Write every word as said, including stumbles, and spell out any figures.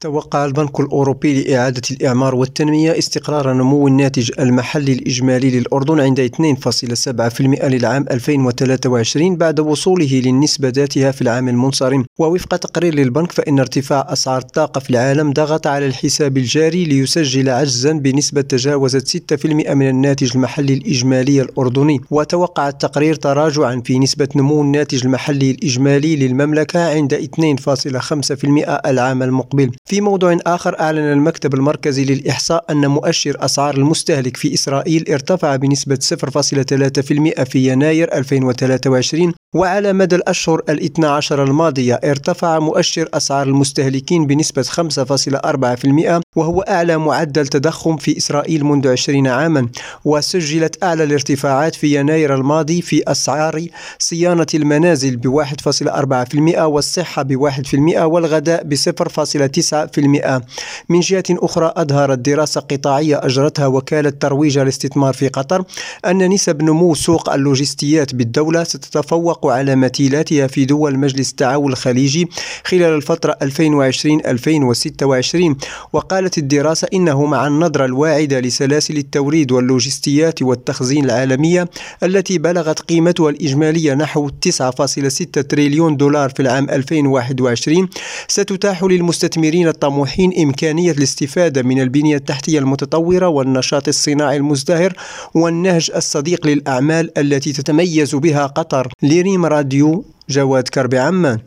توقع البنك الأوروبي لإعادة الإعمار والتنمية استقرار نمو الناتج المحلي الإجمالي للأردن عند اثنين فاصلة سبعة بالمئة للعام ألفين وثلاثة وعشرين بعد وصوله للنسبة ذاتها في العام المنصرم. ووفق تقرير للبنك فإن ارتفاع أسعار الطاقة في العالم ضغط على الحساب الجاري ليسجل عجزا بنسبة تجاوزت ستة بالمئة من الناتج المحلي الإجمالي الأردني. وتوقع التقرير تراجعا في نسبة نمو الناتج المحلي الإجمالي للمملكة عند اثنين فاصلة خمسة بالمئة العام المقبل. في موضوع آخر، أعلن المكتب المركزي للإحصاء أن مؤشر أسعار المستهلك في إسرائيل ارتفع بنسبة صفر فاصلة ثلاثة بالمئة في يناير ألفين وثلاثة وعشرين، وعلى مدى الأشهر الاثنى عشر الماضية ارتفع مؤشر أسعار المستهلكين بنسبة خمسة فاصلة أربعة بالمئة، وهو أعلى معدل تضخم في إسرائيل منذ عشرين عاما. وسجلت أعلى الارتفاعات في يناير الماضي في أسعار صيانة المنازل بواحد فاصلة أربعة بالمئة، والصحة بواحد بالمئة، والغذاء بصفر فاصلة تسعة بالمئة. من جهة أخرى، أظهرت دراسة قطاعية أجرتها وكالة ترويج الاستثمار في قطر أن نسب نمو سوق اللوجستيات بالدولة ستتفوق على مثيلاتها في دول مجلس التعاون الخليجي خلال الفترة ألفين وعشرين ألفين وستة وعشرين. وقالت الدراسة إنه مع النظرة الواعدة لسلاسل التوريد واللوجستيات والتخزين العالمية التي بلغت قيمتها الإجمالية نحو تسعة فاصلة ستة تريليون دولار في العام ألفين وواحد وعشرين، ستتاح للمستثمرين الطموحين إمكانية الاستفادة من البنية التحتية المتطورة والنشاط الصناعي المزدهر والنهج الصديق للأعمال التي تتميز بها قطر. لريم راديو، جواد كربي، عمان.